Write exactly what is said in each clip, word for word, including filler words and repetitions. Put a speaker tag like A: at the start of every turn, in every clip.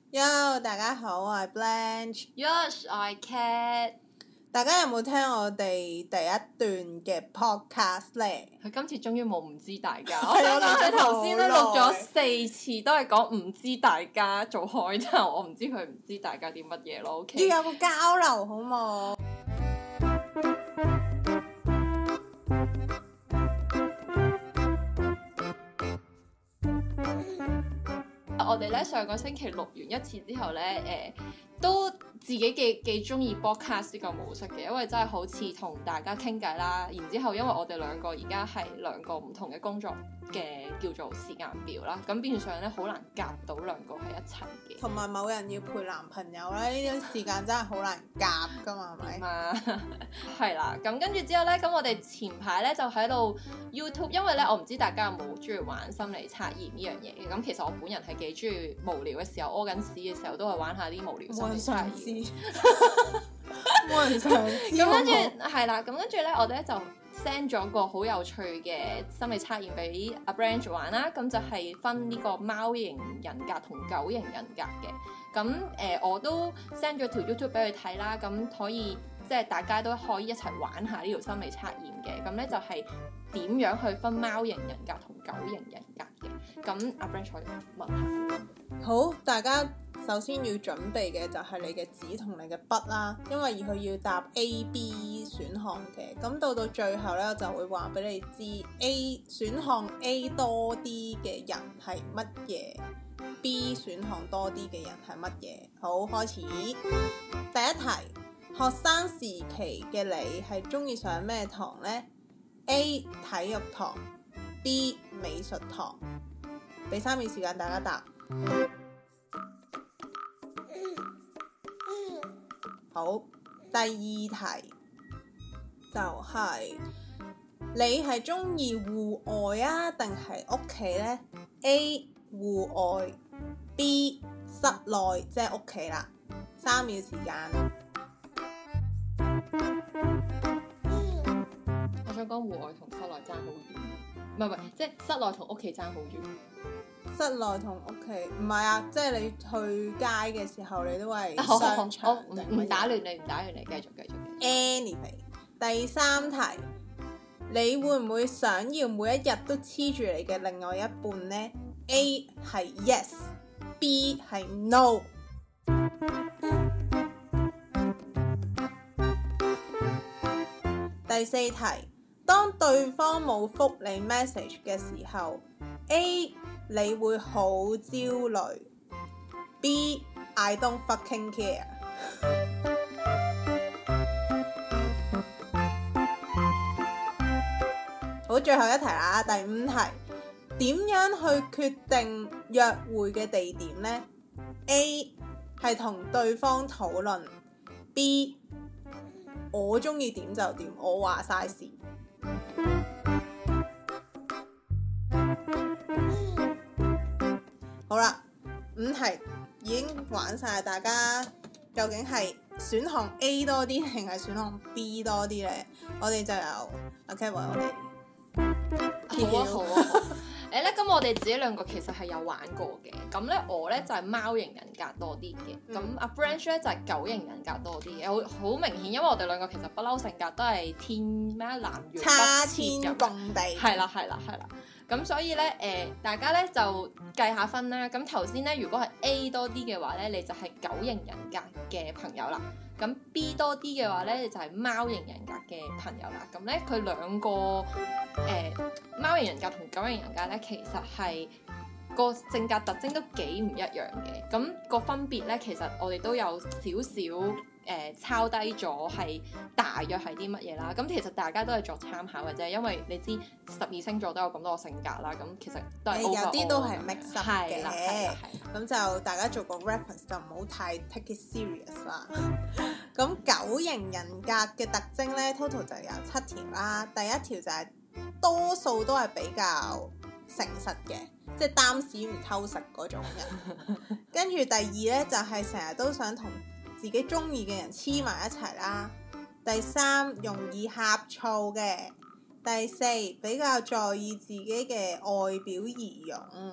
A: Yo， 大家好，我係
B: Blanche。Yes， 我係 Cat。
A: 大家有冇聽我哋第一段嘅 podcast 咧？
B: 佢今次終於冇唔知大家。我想講佢頭先咧錄咗四次，都係講唔知大家做開頭，我唔知佢唔知大家啲乜嘢咯。OK。
A: 要有個交流好冇？
B: 我哋咧上個星期錄完一次之後咧，誒、呃、都自己幾幾中意 podcast 呢個模式嘅，因為真係好似同大家傾偈啦。然之後因為我哋兩個而家係兩個唔同嘅工作嘅叫做時間表啦，咁變相咧好難夾到兩個喺一齊嘅。
A: 同埋某人要陪男朋友咧，呢啲時間真係好難夾噶嘛，係咪？
B: 嘛，係啦。咁跟住之後咧，咁我哋前排咧就喺度 YouTube， 因為咧我唔知大家有冇中意玩心理測驗呢樣嘢嘅。咁其實我本人係幾中意無聊嘅時候，屙緊屎嘅時候都係玩下啲無聊心理測驗。
A: 冇人想知。
B: 咁跟住係啦，咁跟住咧我哋咧就 send 咗個好有趣嘅心理測驗俾阿 Branch 玩啦。咁就係分呢個貓型人格同狗型人格嘅。咁誒、呃、我都 send 咗條 YouTube 俾佢睇啦。咁可以即係大家都可以一齊玩下呢條心理測驗嘅。咁咧就係點樣去分貓型人格同狗型人格嘅。咁阿 Branch 可以問下。
A: 好，大家首先要準備嘅就係你嘅紙同你嘅筆啦，因為佢要答 A、B 選項嘅。咁到到最後咧，我就會話俾你知 A 選項 A 多啲嘅人係乜嘢 ，B 選項多啲嘅人係乜嘢。好，開始。第一題，學生時期嘅你係中意上咩堂呢？ A 體育堂 B 美術堂。俾三秒時間大家答。好，第二題就係、是、你係中意戶外啊定係屋企呢？ A 戶外 B 室內，即係屋企啦。三秒時間。
B: 我想講戶外同室內爭好遠，唔係唔係，即係室內同屋企爭好遠。
A: 室內同屋企唔係啊，即係你去街嘅時候，你都係商場。
B: 唔唔打亂你，唔打亂你，繼續繼續。
A: Anyway， 第三題，你會唔會想要每一日都黐住你嘅另外一半呢？ A 係 yes，B 係 no。第四題，當對方冇覆你 message 嘅時候 ，A 你會好焦慮 ，B I don't fucking care。好，最後一題啦，第五題，點樣去決定約會嘅地點呢？ A 係同對方討論 ，B 我中意點就點，我話晒事。好啦，五題已經玩晒，大家究竟係選項 A 多啲定係選項 B 多啲呢？我哋就由 OK 為我哋。
B: 好啊好啊好。誒咧，咁我哋自己兩個其實係有玩過嘅。咁咧，我咧就係、是、貓型人格多啲嘅。咁阿 Branch 咧就係、是、狗型人格多啲嘅。好好明顯，因為我哋兩個其實不嬲性格都係天咩南轅北
A: 差
B: 轍
A: 天共地。
B: 係啦係啦係啦。咁所以咧，誒、呃、大家咧就計下分啦。咁頭先咧，如果係 A 多啲嘅話咧，你就係狗型人格嘅朋友啦。咁 B 多啲嘅話咧，你就係貓型人格嘅朋友啦。咁咧，佢兩個誒貓型人格同狗型人格咧，其實係個性格特徵都幾唔一樣嘅。咁、個分別咧，其實我哋都有少少。誒、呃、抄低咗係大約係啲乜嘢啦，咁其實大家都係作參考嘅啫，因為你知十二星座都有咁多個性格啦，咁其實都係 overall
A: 有啲都係 mix up 嘅，咁就大家做個 reference 就唔好太 take it serious 啦。咁狗型人格嘅特徵咧 total 就有七條啦，第一條就係多數都係比較誠實嘅，即係擔屎唔偷食嗰種人。跟住第二咧就係成日都想同自己中意嘅人黐埋一齊啦。第三，容易呷醋嘅。第四，比較在意自己嘅外表儀容。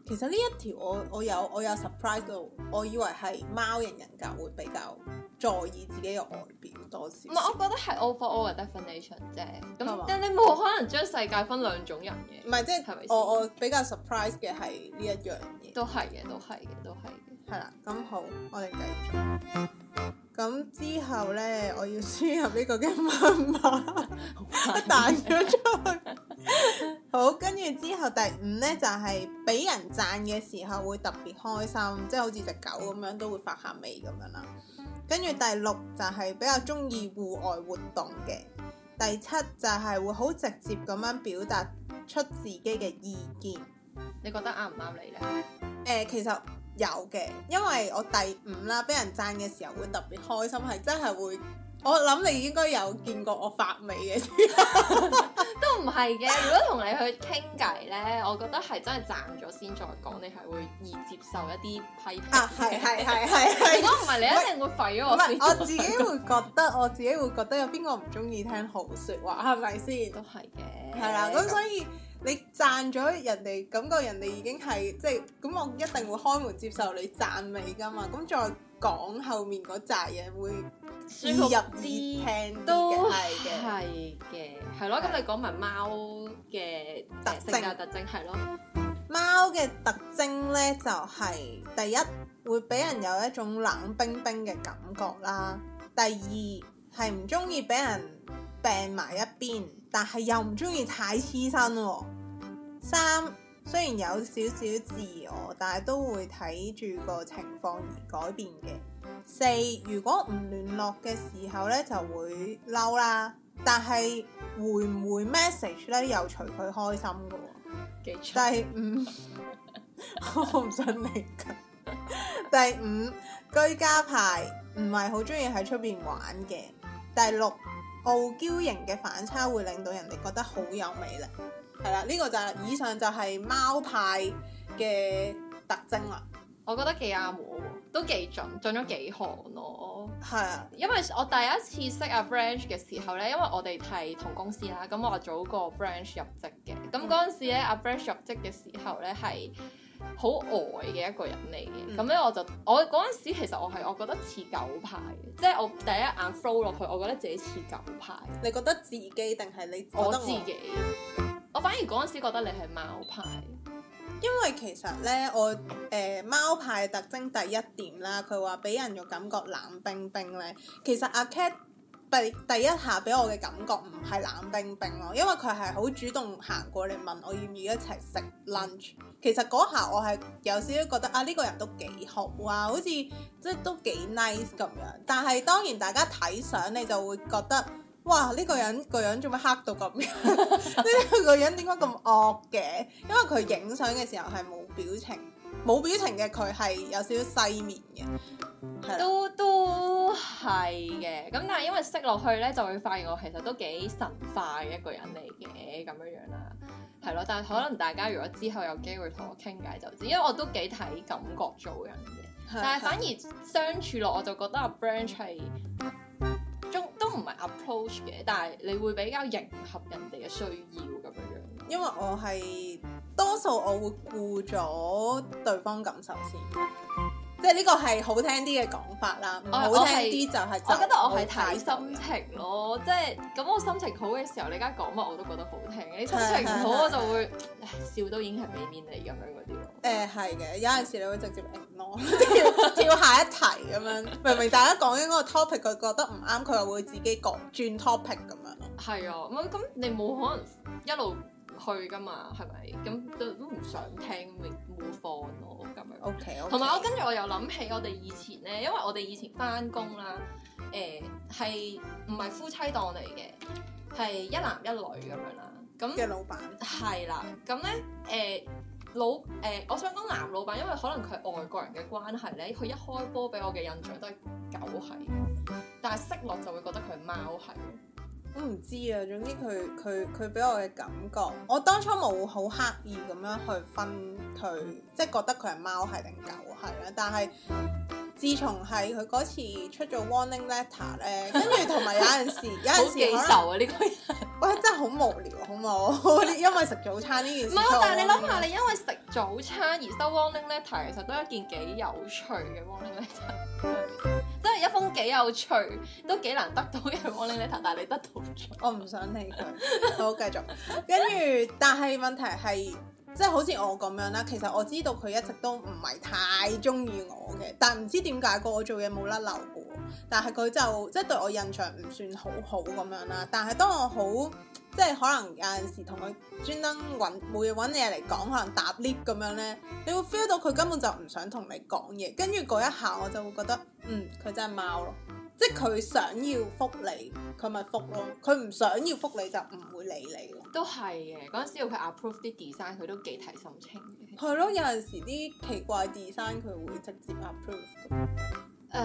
A: 其實呢一條我我有我有 surprise 到，我以為係貓型人格會比較在意自己嘅外表多少少。
B: 唔係，我覺得係 overall 嘅 definition 啫。咁
A: 係嘛
B: 但你冇可能將世界分兩種人嘅。
A: 唔係即係
B: 係咪先
A: 我我比較 surprise 嘅係呢一樣嘢。
B: 都係嘅，都係嘅，都係嘅。
A: 係啦，咁好，我哋繼續。咁之後咧，我要輸入呢個嘅密碼，彈咗出去。好，跟住之後第五咧就係、是、俾人讚嘅時候會特別開心，即係好似隻狗咁樣都會發下味咁樣啦。跟住第六就係比較中意戶外活動嘅。第七就係會好直接咁樣表達出自己嘅意見。
B: 你覺得啱唔啱你咧？
A: 誒、呃，其實有嘅，因為我第五啦，俾人讚嘅時候會特別開心，係真係會。我諗你應該有見過我發味嘅時候，
B: 都唔係嘅。如果同你去傾偈咧，我覺得係真係讚咗先再講，你係會易接受一啲批評。
A: 啊，係係係係係。
B: 如果唔係，你一定會廢咗我先。
A: 我自己會覺得，我自己會覺得有邊個唔中意聽好説話，係咪先？
B: 都係嘅。
A: 係啦，咁所以你讚咗人哋，感覺人哋已經係即係咁，我一定會開門接受你讚美㗎嘛。咁再講後面嗰扎嘢會易入耳聽啲嘅，係嘅，
B: 係嘅，係咯。咁你講埋貓嘅特性格特徵係咯。
A: 貓嘅特徵咧就係、是、第一會俾人有一種冷冰冰嘅感覺啦。第二係唔中意俾人病埋一邊，但係又唔中意太黐身喎。三雖然有少少自我，但係都會睇住個情況而改變嘅。四如果唔聯絡嘅時候咧就會嬲啦，但係回唔回 message 咧又隨佢開心嘅喎。
B: 幾長？
A: 第五我唔想理佢。第五居家派唔係好中意喺出邊玩嘅。第六傲嬌型嘅反差會令到人哋覺得好有魅力。係啦，呢、這個就係、是、以上就係貓派嘅特徵啦。
B: 我覺得幾啱我喎，都幾準，準咗幾行咯。
A: 係啊，
B: 因為我第一次識阿 Branch 嘅時候咧，因為我哋係同公司啦，咁我早過 Branch 入職嘅。咁嗰陣時咧，阿 Branch 入職嘅時候咧係好呆嘅一個人嚟嘅。咁咧、嗯、我就我嗰陣時其實我係我覺得似狗派嘅，即係我第一眼 flow 落去，我覺得自己似狗派。
A: 你覺得自己定係你覺得我？
B: 我自己。我反而嗰陣時覺得你係貓派。
A: 因為其實咧，我誒、呃、貓派特徵第一點啦，佢話俾人嘅感覺冷冰冰咧。其實阿 Cat 第第一下俾我嘅感覺唔係冷冰冰咯，因為佢係好主動行過嚟問我要唔要一齊食 lunch。其實嗰下我係有少少覺得啊，呢、呢個人都幾好啊，好似即係都幾 nice 咁樣。但係當然大家睇相你就會覺得。哇！呢、這個人個樣做咩黑到咁樣？呢個人點解咁惡嘅？因為佢影相嘅時候係冇表情，冇表情嘅佢係有少少西面嘅，
B: 都都係嘅。咁但係因為識落去咧，就會發現我其實都幾神化嘅一個人嚟嘅咁樣樣啦，係咯。但係可能大家如果之後有機會同我傾偈就知，因為我都幾睇感覺做人嘅。的但係反而相處落我就覺得阿 Branch 係。都唔係 approach 嘅，但係你會比較迎合人哋嘅需要咁樣樣。
A: 因為我係多數我會顧咗對方感受先，即係呢個係好聽啲嘅講法啦。唔好聽啲就係
B: 我覺得我係睇心情咯，即係咁我心情好嘅時候，你而家講乜我都覺得好聽。你心情唔好我就會笑都已經係俾面你咁樣嗰啲咯。
A: 誒係嘅，有陣時你會直接 ignore 跳下一題咁樣，明明大家講緊嗰個 topic 佢覺得唔啱，佢又會自己講轉 topic 咁樣咯。
B: 係啊，咁咁你冇可能一路去噶嘛，係咪？咁都都唔想聽，咪冇放咯咁樣。
A: O K，
B: 同埋我跟住我又諗起我哋以前咧，因為我哋以前翻工啦，誒係唔係夫妻檔嚟嘅，係一男一女咁樣啦。咁
A: 嘅老闆
B: 係啦，咁咧誒。老誒、呃，我想講男老闆，因為可能佢係外國人嘅關係咧，佢一開波俾我嘅印象都係狗係，但係識落就會覺得佢係貓係。
A: 我唔知啊，總之佢佢佢俾我嘅感覺，我當初冇好刻意咁樣去分佢，即係覺得佢係貓係定狗係啦。但係自從係佢嗰次出咗 warning letter 咧，跟住同埋有陣時有陣時
B: 記仇啊呢個人。
A: 喂，真係好無聊，好冇？因為食早餐呢件事。
B: 唔係，但係你諗下，你因為食早餐而收 warning letter，其實都係一件幾有趣嘅 warning letter，即係一封幾有趣，都幾難得到嘅 warning letter，但係你得到咗。
A: 我唔想理佢。好，繼續。跟住，但係問題係，即係好似我咁樣啦。其實我知道佢一直都唔係太中意我嘅，但係唔知點解個我做嘢冇甩漏嘅。但係佢就即係對我印象唔算好好咁樣啦。但係當我好即係可能有陣時同佢專登揾冇嘢揾嘢嚟講，可能搭 lift 咁樣咧，你會 feel 到佢根本就唔想同你講嘢。跟住嗰一下我就會覺得，嗯，佢真係貓咯。即係佢想要覆你，佢咪覆咯；佢唔想要覆你就唔會理你咯。
B: 都係嘅，嗰陣時要佢 approve 啲 design，佢都幾睇心情嘅。
A: 係咯，有陣時啲奇怪 design 佢會直接 approve 嘅。
B: 誒，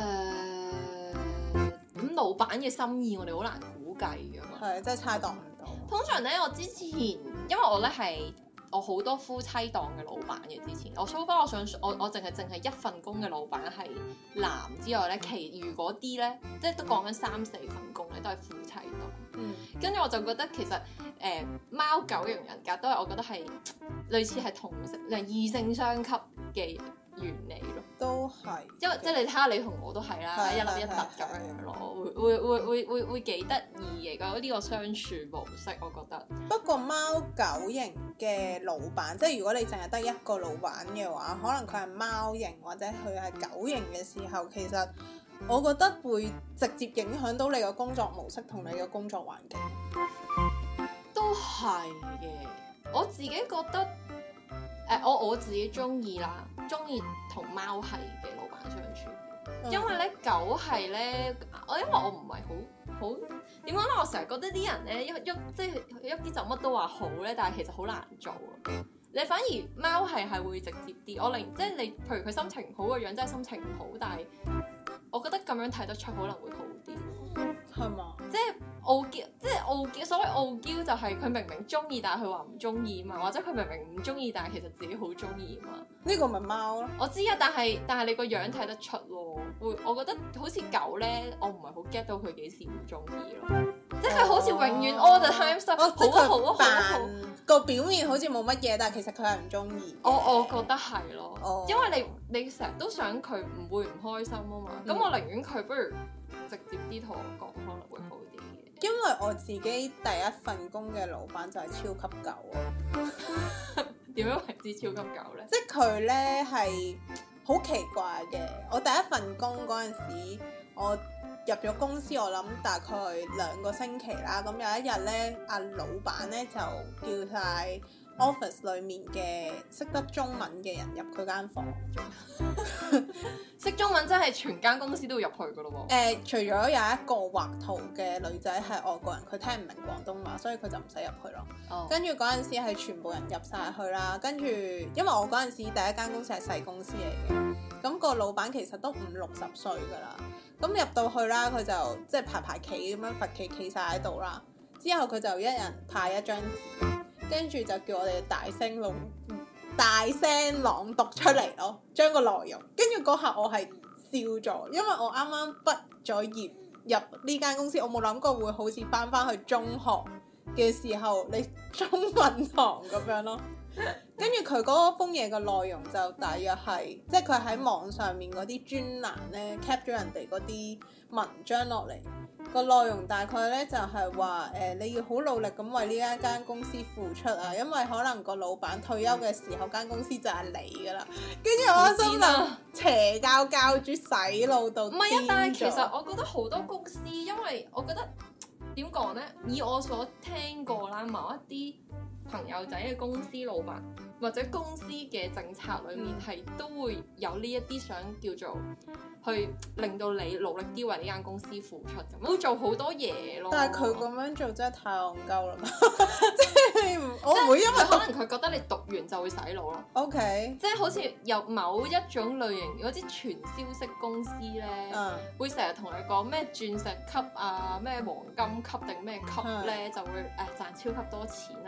B: 咁老闆嘅心意我哋好難估計㗎嘛。
A: 係，真係猜度唔到。
B: 通常咧，我之前因為我咧係我好多夫妻檔嘅老闆嘅，之前我 so far 我想我我淨係淨係一份工嘅老闆係男之外咧，其餘嗰啲咧即係都講緊三四份工咧都係夫妻檔。
A: 嗯，
B: 跟住我就覺得其實誒貓狗型人格都係我覺得係類似係同性誒異性相吸嘅原理咯。
A: 都係，
B: 因為即係你睇下你同我都係啦，一粒一突咁樣樣咯，會會會會會會幾得意嘅嗰呢個相處模式，我覺得。
A: 不過貓狗型嘅老闆，即係如果你淨係得一個老闆嘅話，可能佢係貓型或者佢係狗型嘅時候，其實我覺得會直接影響到你嘅工作模式同你嘅工作環境。
B: 都係嘅，我自己覺得誒、呃，我我自己中意啦，中意同貓係嘅老闆相處，嗯、因為咧狗係咧，我因為我唔係好好點講咧，我成日覺得啲人咧一喐即係一啲就乜都話好咧，但係其實好難做啊。你反而貓係係會直接啲，我寧即係你，譬如佢心情唔好個樣，真係心情唔好，但係我覺得咁樣睇得出可能會好啲。
A: 係嘛？
B: 即係傲嬌，即係傲嬌。所謂傲嬌就係佢明明中意，但係佢話唔中意嘛，或者佢明明唔中意，但係其實自己好中意嘛。
A: 呢個咪貓咯。
B: 我知啊，但係但係你個樣睇得出咯。會，我覺得好似狗咧，我唔係好 get 到佢幾時唔中意咯。哦、即係佢好似永遠 all the time 都、哦、好啊好啊好啊好。
A: 個表面好似冇乜嘢，但係其實佢係唔中意。
B: 我我覺得係咯，
A: 哦、
B: 因為你你成日都想佢唔會唔開心啊嘛。咁、嗯、我寧願佢不如直接啲同我講，可能會好啲嘅。
A: 因為我自己第一份工嘅老闆就係超級狗啊。
B: 點樣為之超級狗咧？
A: 即係佢咧係好奇怪嘅。我第一份工嗰陣時，我入咗公司，我諗大概兩個星期啦。咁有一日咧，阿老闆咧就叫晒 office 裡面嘅識得中文嘅人入佢間房。
B: 識中文真係全間公司都要入去噶咯喎。
A: 誒，除咗有一個畫圖嘅女仔係外國人，佢聽唔明廣東話，所以佢就唔使入去咯。Oh. 跟住嗰陣時係全部人入晒去啦。跟住因為我嗰陣時第一間公司係細公司嚟嘅，咁個老闆其實都五六十歲噶啦。咁入到去啦，佢就即係排排企咁樣罰企企晒喺度啦。之後佢就一人派一張紙，跟住就叫我哋大聲朗大聲朗讀出嚟咯，將個內容。跟住嗰下我係笑咗，因為我啱啱畢咗業入呢間公司，我冇諗過會好似翻翻去中學嘅時候，你中文堂咁樣咯。跟住佢嗰封嘢嘅內容就大約係，即係佢喺網上面嗰啲專欄咧 cap 咗人哋嗰啲文章落嚟，個內容大概咧就係話誒你要好努力咁為呢一間公司付出啊，因為可能個老闆退休嘅時候間公司就係你噶啦。跟住我心諗邪教教主洗腦到癲咗。唔係啊，但係
B: 其實我覺得好多公司，因為我覺得點講咧，以我所聽過啦，某一啲朋友仔嘅公司老闆或者公司嘅政策裏面係、嗯、都會有呢一啲想叫做去令到你努力啲為呢間公司付出咁，會做好多嘢咯。
A: 但係佢咁樣做真係太戇鳩啦！即係我唔會因為
B: 可能佢覺得你讀完就會洗腦咯。
A: OK，
B: 即係好似有某一種類型嗰啲傳銷式公司咧，嗯、會成日同你講咩鑽石級啊、咩黃金級定咩級咧，嗯、就會誒、呃、賺超級多錢啦，跟住你就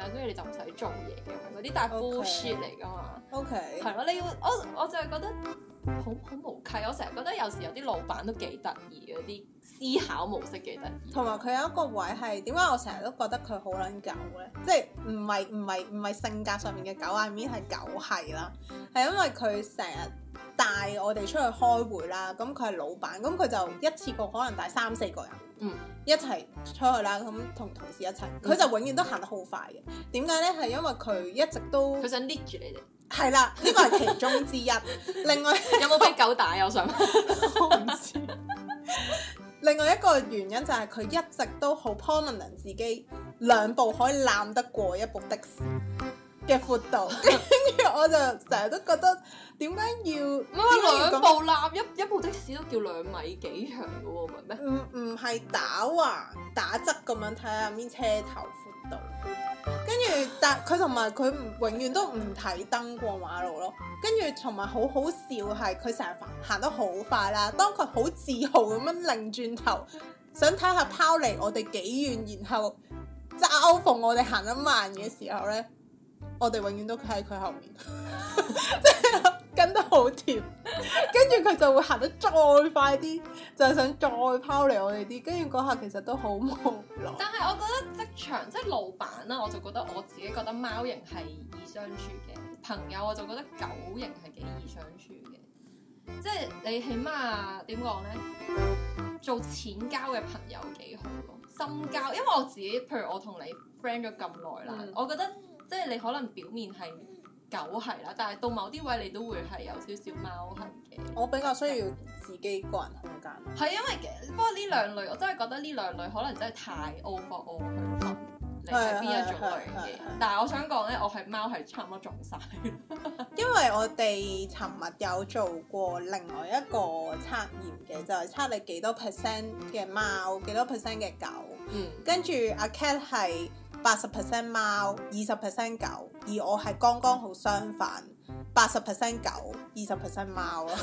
B: 唔使做嘢咁樣嗰啲，但係 bullshit 嚟㗎嘛。
A: OK。
B: 係咯，你要我我就係覺得好好無稽。我成日覺得有時有啲老闆都幾得意嘅，啲思考模式幾得意。
A: 同埋佢有一個位係點解我成日都覺得佢好撚狗咧？即係唔係唔係唔係性格上面嘅狗，I mean係狗係啦，係因為佢成日帶我哋出去開會啦，咁佢係老闆，咁佢就一次過可能帶三四個人，嗯，一齊出去啦，咁同同事一齊，佢、嗯、就永遠都行得好快嘅。點解咧？係因為佢一直都
B: 佢想 lead 住你哋。
A: 係啦，呢個係其中之一。另外
B: 有冇俾狗打？我想
A: 我唔知。另外一個原因就係佢一直都好 prominent 自己兩步可以攬得過一部的士嘅闊度，跟住我就成日都覺得點解要唔
B: 係兩步攬一一部的士都叫兩米幾長嘅喎，唔係咩？
A: 唔唔係打橫打側咁樣睇下邊車頭闊度，跟住但佢同埋佢永遠都唔睇燈過馬路咯，跟住同埋好好笑係佢成日行得好快啦，當佢好自豪咁樣擰轉頭想睇下拋離我哋幾遠，然後嘲諷我哋行得慢嘅時候咧，我哋永遠都喺佢後面，即係跟得好貼，跟住佢就會行得再快啲，就係想再拋離我哋啲，跟住嗰下其實都好無奈。
B: 但係我覺得職場即係老闆啦，我就覺得我自己覺得貓型係易相處嘅，朋友我就覺得狗型係幾易相處嘅，即係你起碼點講咧，做淺交嘅朋友幾好咯，深交，因為我自己譬如我同你 friend 咗咁耐啦，嗯、我覺得。即係你可能表面係狗係啦，但係到某啲位你都會係有少少貓係嘅。
A: 我比較需要自己個人空間。
B: 係因為不過呢兩類，我真係覺得呢兩類可能真係太 overall 去分你係邊一種類嘅。但係我想講咧，我係貓係差唔多中晒。
A: 因為我哋尋日有做過另外一個測驗嘅，就係、是、測你幾多 percent 嘅貓，幾多 percent 嘅狗。嗯。跟住阿 Cat 係八十 percent 貓，二十 percent 狗，而我係剛剛好相反，八十 percent 狗，二十 percent 貓咯。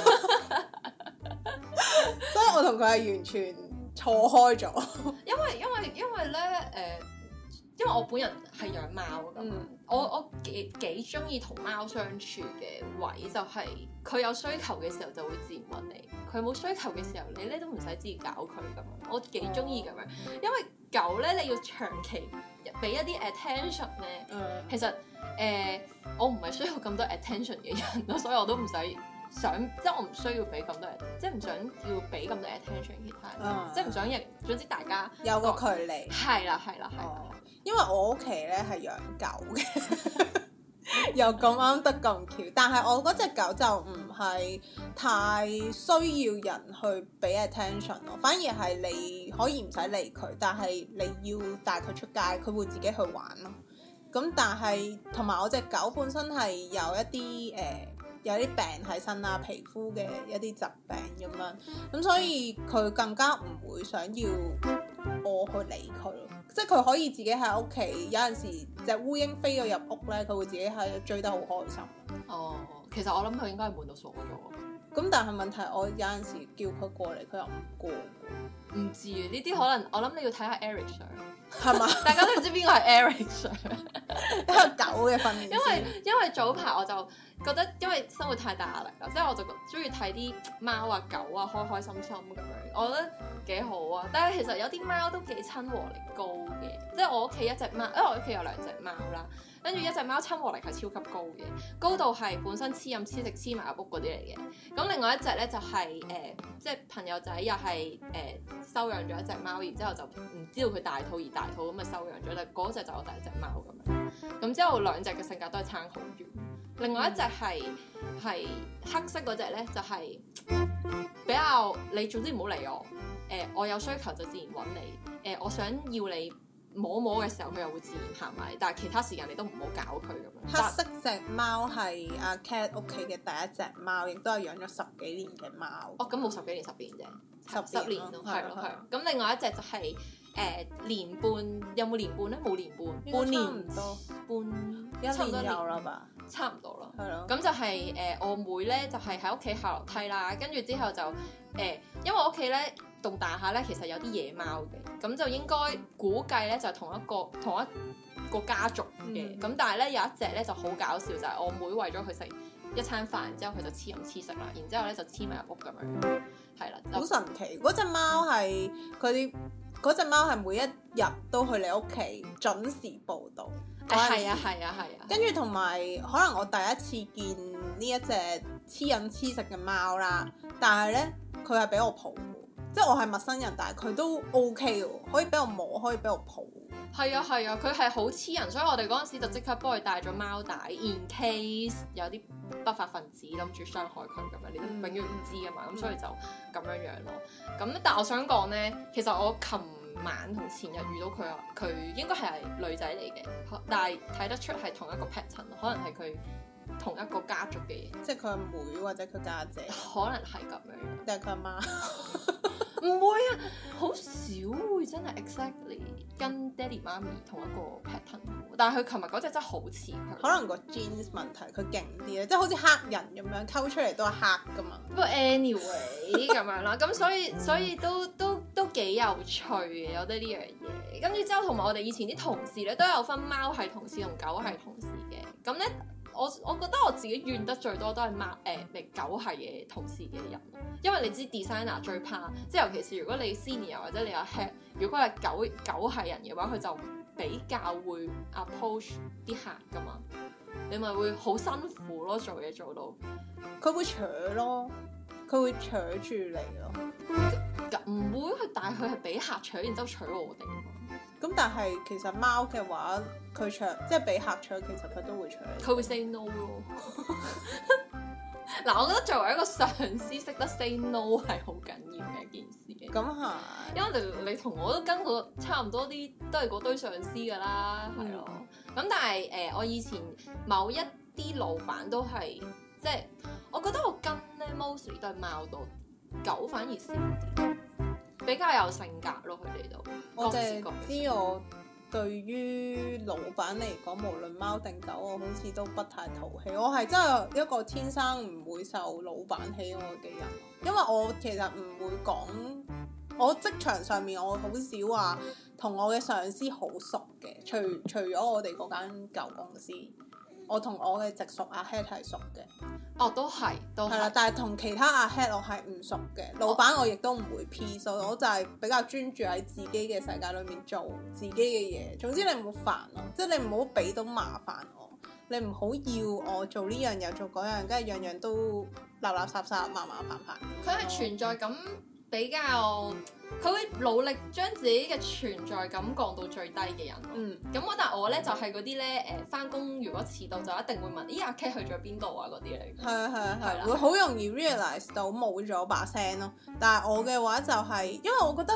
A: 所以我同佢係完全錯開咗。
B: 因為因為因為咧誒、呃，因為我本人係養貓㗎嘛，嗯、我我幾幾中意同貓相處嘅位就係佢有需求嘅時候就會自然揾你，佢冇需求嘅時候你咧都唔使自己搞佢咁樣，我幾中意咁樣，因為狗咧你要長期俾一啲 attention 咧，嗯、其實誒、呃、我唔係需要咁多 attention 嘅人咯，所以我都唔使想，即係我唔需要俾咁多，即係唔想要俾咁多 attention 其他人，嗯、即係唔想亦總之大家
A: 有個距離。係
B: 啦係啦係啦，
A: 因為我屋企咧係養狗嘅，又咁啱得咁巧，但係我嗰隻狗就唔係太需要人去俾 attention 咯，反而係你可以唔使理佢，但係你要帶佢出街，佢會自己去玩咯。咁但係同埋我隻狗本身係有一啲誒、呃、有啲病喺身啦，皮膚嘅一啲疾病咁樣，咁所以佢更加唔會想要我去理佢咯。即係佢可以自己喺屋企，有陣時隻烏蠅飛咗入屋咧，佢會自己喺度追得好開心。
B: 哦，其實我諗佢應該係悶到傻咗。
A: 咁但係問題，我有陣時叫佢過嚟，佢又唔過。
B: 唔知呢啲可能我諗你要睇下 Eric Sir
A: 係嘛？
B: 大家都唔知邊個係 Eric Sir，
A: 一個狗嘅訓練師。
B: 因為因為早排我就覺得，因為生活太大壓力啦，即係我就中意睇啲貓啊狗啊開開心心咁樣，我覺得幾好啊。但係其實有啲貓都幾親和力高嘅，即係我屋企一隻貓，因為我屋企有兩隻貓啦。跟住一隻貓親和力係超級高嘅，高度係本身黐飲黐食黐埋入屋嗰啲嚟嘅。咁另外一隻咧就係、是、誒、呃，即係朋友仔又係誒、呃、收養咗一隻貓，然之後就唔知道佢大肚而大肚咁啊收養咗，但嗰隻就我第一隻貓咁樣。咁之後兩隻嘅性格都係差好遠。另外一隻係係黑色嗰隻咧，就係、是、比較你總之唔好理我，誒、呃、我有需求就自然揾你，誒、呃、我想要你。摸摸嘅時候佢又會自然行埋，但係其他時間你都唔好搞佢咁樣。
A: 黑色隻貓係阿 Cat 屋企嘅第一隻貓，亦都係養咗十幾年嘅貓。
B: 哦，咁冇十幾年十年啫，十年咯，係咯係。咁另外一隻就係、是、誒、呃、年半，有冇年半咧？冇年半，半年唔多，半一年有啦吧？差唔多啦，係咯。咁就係、是、誒、呃、我妹咧，就係喺屋企下樓梯啦，跟住之後就誒、呃，因為我屋企咧。棟大廈咧，其實有啲野貓嘅，咁就應該估計咧就同一個同一個家族嘅。咁、嗯、但係咧有一隻咧就好搞笑，就係、是、我妹為咗佢食一餐飯，然之後佢就黐飲黐食啦，然之後咧就黐埋入屋咁樣，係啦。好
A: 神奇！嗰隻貓係佢啲嗰隻貓係每一日都去你屋企準時報到。
B: 係啊係啊係啊！
A: 跟住同埋可能我第一次見呢一隻黐飲黐食嘅貓啦，但係咧佢係俾我抱。即係我係陌生人，但係佢都 OK 喎，可以俾我摸，可以俾我抱。
B: 係啊係啊，佢係好黐人，所以我哋嗰陣時就即刻幫佢帶咗貓帶 ，in case 有啲不法分子諗住傷害佢咁樣，你都永遠唔知噶嘛，咁、嗯、所以就咁樣樣咯。咁但係我想講咧，其實我琴晚同前日遇到佢啊，佢應該係女仔嚟嘅，但係睇得出係同一個 pattern，可能係佢同一個家族嘅嘢，
A: 即係佢阿妹或者佢家姐，姐，
B: 可能係咁樣，
A: 定係佢阿媽？
B: 唔會啊，好少會真係 exactly 跟爹哋媽咪同一個 pattern，但係佢琴日嗰隻真係好似佢，
A: 可能個 genes 問題，佢勁啲咧，即係好似黑人咁樣溝出嚟都係黑噶嘛。
B: 不過 anyway 咁樣啦，咁所以所以都都都幾有趣嘅，有得呢樣嘢。跟住之後同埋我哋以前啲同事咧都有分貓係同事同狗係同事嘅，咁咧。我我覺得我自己怨得最多都係貓誒，你、呃、狗係嘅同事嘅人，因為你知 designer 最怕，即係尤其是如果你 senior 或者你有 head，如果係狗狗係人嘅話，佢就比較會 approach 啲客噶嘛，你咪會好辛苦咯，做嘢做到，
A: 佢會扯咯，佢會扯住你咯，
B: 唔會，佢但係佢係俾客扯，然之後扯我哋。
A: 咁但係其實貓嘅話，佢搶即係俾客搶，其實佢都會搶。
B: 佢會 say no 咯。嗱，我覺得作為一個上司，識得 say no 係好緊要嘅一件事嘅。
A: 咁係，
B: 因為你你同我都跟過差唔多啲，都係嗰堆上司㗎啦，係咯、嗯。咁但係誒、呃，我以前某一啲老闆都係，即係我覺得我跟咧 mostly 都係貓多，狗反而少啲。比較有性格咯，佢哋都。
A: 我淨係知我對於老闆嚟講，無論貓定狗，我好似都不太討喜。我係真係一個天生唔會受老闆喜愛嘅人，因為我其實唔會講，我職場上面我好少話同我嘅上司好熟嘅，除除咗我哋嗰間舊公司。我同我嘅直屬阿 head 係熟嘅，
B: 哦，都係，都係啦。
A: 但係同其他阿 head 我係唔熟嘅，老闆我亦都唔會 P，所以我就係比較專注喺自己嘅世界裏面做自己嘅嘢。總之你唔好煩我，即係你唔好俾到麻煩我，你唔好要我做呢樣又做嗰樣，跟住樣樣都垃垃圾圾、麻麻煩煩。
B: 佢係存在感比較，佢會努力將自己嘅存在感降到最低嘅人。嗯，咁我但係我咧就係嗰啲咧誒，翻工如果遲到就一定會問，咦阿 K 去咗邊度啊嗰啲嚟。係啊係啊係，
A: 會好容易 realise 到冇咗把聲咯。但係我嘅話就係、是，因為我覺得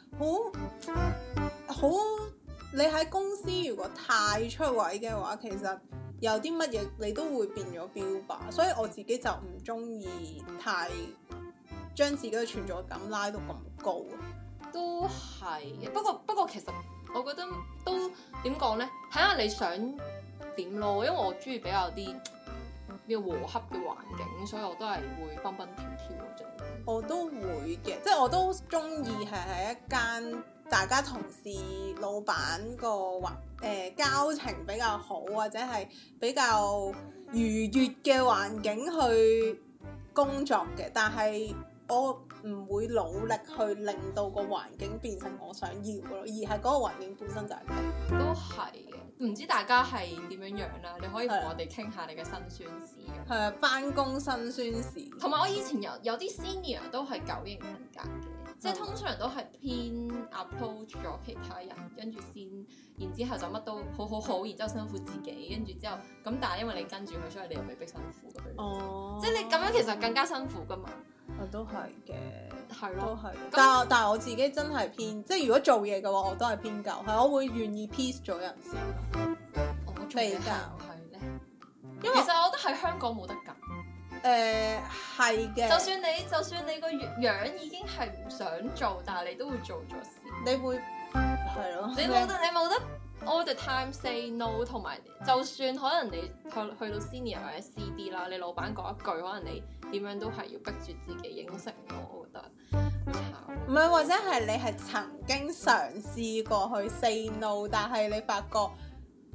A: 好好，你喺公司如果太出位嘅話，其實有啲乜嘢你都會變咗標靶，所以我自己就唔中意太將自己嘅存在感拉到咁高。
B: 都係嘅，不過不過其實我覺得都點講咧，睇下你想點咯。因為我中意比較啲比較和洽嘅環境，所以我都係會蹦蹦跳跳嗰種。
A: 我都會嘅，即係我都中意係喺一間大家同事、老闆個環誒交情比較好，或者係比較愉悅嘅環境去工作嘅，但係我唔會努力去令到個環境變成我想要嘅咯，而係嗰個環境本身就係咁。
B: 都係嘅，唔知大家係點樣樣啦？你可以同我哋傾下你嘅辛酸史嘅。
A: 係啊，返工辛酸史。
B: 同埋我以前有有啲 senior 都係九型人格嘅，即係通常都係偏 approach 咗其他人，跟住先，然之後就乜都好好好，然之後辛苦自己，跟住之後咁，但係因為你跟住佢，所以你又未必辛苦咁樣。哦，即係你咁樣其實更加辛苦噶嘛。
A: 我都係嘅，
B: 係咯，
A: 都係。但係但係我自己真係偏，即係如果做嘢嘅話，我都係偏狗，係我會願意 peace 咗人先。
B: 我比較係咧，
A: 因為
B: 其實我覺得喺香港冇得揀。
A: 誒係嘅，
B: 就算你就算你個樣已經係唔想做，但係你都會做咗先。
A: 你會係咯？
B: 你冇得，你冇得 all the time say no， 同埋就算可能你去去到 senior 或者 C D 啦，你老闆講一句，可能你點樣都係要逼住自己應承咯，我覺得好慘。
A: 唔係，或者係你係曾經嘗試過去 say no， 但係你發覺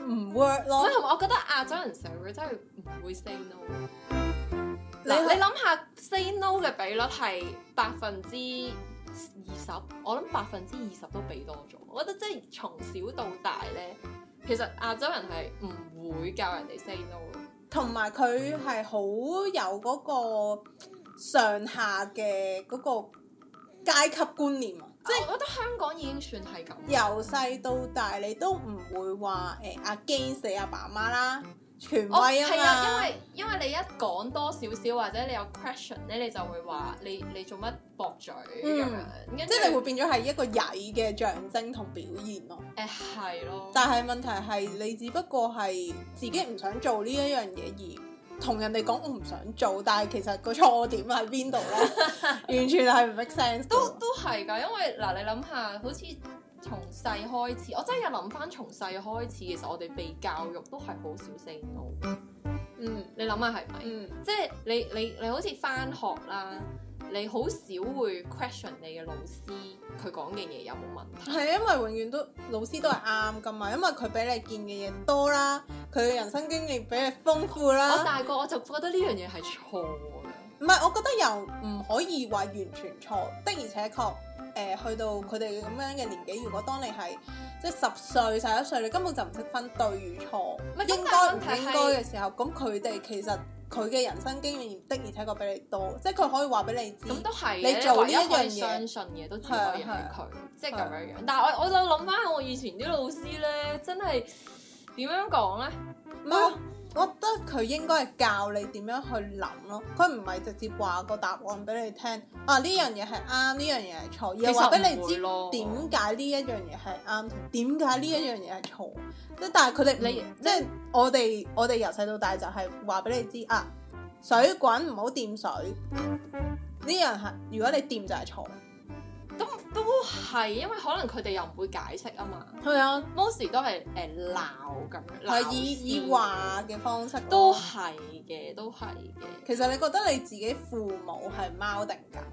A: 唔 work 咯。
B: 同埋我覺得亞洲人社會真係唔會 say no。
A: 你
B: 嗱，你諗下 say no 嘅比率係百分之二十，我諗百分之二十都俾多咗。我覺得即係從小到大咧，其實亞洲人係唔會教人哋 say no 咯。
A: 同埋佢係好有嗰個上下嘅嗰個階級觀念啊！
B: 即係我覺得香港已經算係咁。
A: 由細到大，你都唔會話誒 against 你阿爸媽啦，權威啊嘛。
B: 係啊，因為因為你一講多少少或者你有 question 咧，你就會話你你做乜駁嘴咁樣，
A: 嗯、即係你會變咗係一個曳嘅象徵同表現咯。
B: 誒係咯。
A: 但係問題係你只不過係自己唔想做呢一樣嘢而。同人哋講我唔想做，但係其實個錯點喺邊度咧？完全係唔 make sense。
B: 都都係㗎，因為嗱，你諗下，好似從細開始，我真係諗翻從細開始，其實我哋被教育都係好少 say no。
A: 嗯，
B: 你諗下係咪？
A: 嗯，
B: 即係你你你好似翻學啦，你好少會 question 你嘅老師佢講嘅嘢有冇問題。
A: 係因為永遠都老師都係啱㗎嘛，因為佢俾你見嘅嘢多啦，佢嘅人生經驗比你豐富啦。
B: 我大個我就覺得呢樣嘢係錯嘅。
A: 唔係，我覺得又唔可以話完全錯的，而且確誒、呃、去到佢哋咁樣嘅年紀，如果當你係即係十歲、十一歲，你根本就唔識分對與錯，應該唔應該嘅時候，咁佢哋其實佢嘅人生經驗的而且確比你多，即係佢可以話俾你知。
B: 咁都係
A: 你做呢一樣嘢，
B: 相信嘅都只可以係佢，即係咁樣樣。
A: 係
B: 但係我我就諗翻我以前啲老師咧，真係點樣講咧？
A: 我我覺得佢應該係教你點樣去諗咯，佢唔係直接話個答案俾你聽。啊，呢樣嘢係啱，呢樣嘢係錯，而係話俾你知點解呢一樣嘢係啱，同點解呢一樣嘢係錯。即係但係佢哋你即係我哋我哋由細到大就係話俾你知啊，水滾唔好掂水，呢樣係如果你掂就係錯。
B: 都都係，因為可能佢哋又唔會解釋啊嘛。
A: 係啊
B: ，most 都係誒鬧咁樣，
A: 係以以話嘅方式。
B: 都係嘅，都係嘅。
A: 其實你覺得你自己父母係貓定狗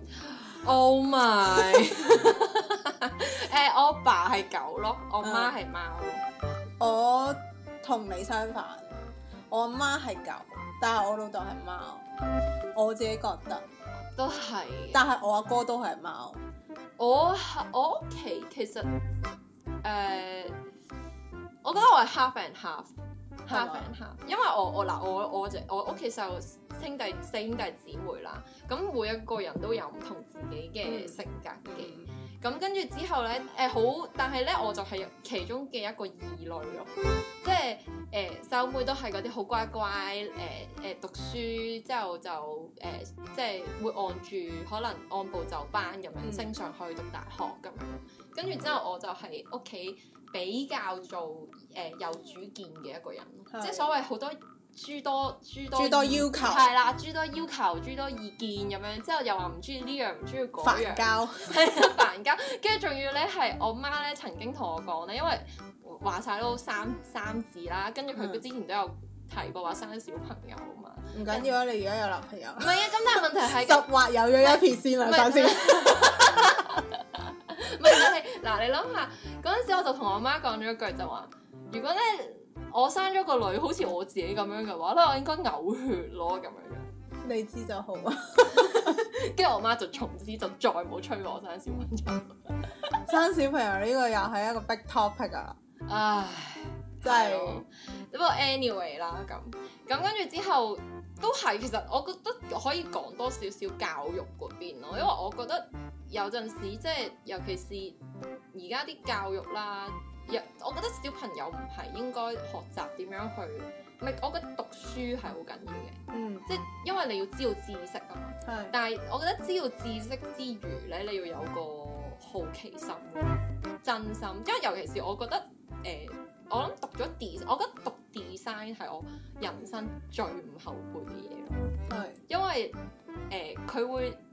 B: ？Oh my！誒、呃，我爸係狗咯，我媽係貓。
A: 我同你相反，我阿媽係狗，但係我老豆係貓。我自己覺得
B: 都係，
A: 但係我阿哥都係貓。
B: 我我屋企其實誒、呃，我覺得我係 half and half，half and half，因為我我嗱我我只我屋企就兄弟四兄弟姊妹啦，咁每一個人都有唔同自己嘅性格嘅，咁、嗯、跟住之後咧誒好，但係咧我就係其中嘅一個異類咯，即係誒細佬妹都係嗰啲好乖乖誒誒、呃、讀書之後就誒、呃、即係會按住可能按部就班咁樣、嗯、升上去讀大學咁樣，跟住之後我就係屋企比較做誒、呃、有主見嘅一個人，即係所謂好多。諸多諸多
A: 諸多要求
B: 係啦，諸多要求，諸多意見咁樣，之後又話唔中意呢樣，唔中意嗰樣，
A: 煩交
B: 係啊煩交，跟住仲要咧係我媽咧曾經同我講咧，因為話晒都三三字啦，跟住佢之前都有提過話生小朋友啊嘛，
A: 唔緊要啊，你而家有男朋友，
B: 唔係啊，咁但係問題係
A: 十劃有咗一撇先啦，首先，
B: 唔係嗱，你諗下嗰陣時我就同我媽講咗一句就話，如果咧。我生咗個女，好似我自己咁樣嘅話咧，我應該嘔血咯咁樣樣。
A: 你知就好啊。
B: 跟住我媽就從此就再冇催我生小朋友。
A: 生小朋友呢個又係一個 big topic 啊！
B: 唉，
A: 真係。
B: 不過 anyway 啦，咁咁跟住之後都係，其實我覺得可以講多少少教育嗰邊咯，因為我覺得有陣時即係尤其是而家啲教育啦。我覺得小朋友唔係應該學習點樣去，唔係我覺得讀書係好緊要嘅，
A: 嗯，
B: 即係因為你要知道知識啊嘛，
A: 係。
B: 但係我覺得知道知識之餘咧，你要有個好奇心、真心，因為尤其是我覺得誒、呃，我諗讀咗 design，我覺得讀 design 係我人生最唔後悔嘅嘢咯，
A: 係。
B: 因為誒佢、呃、會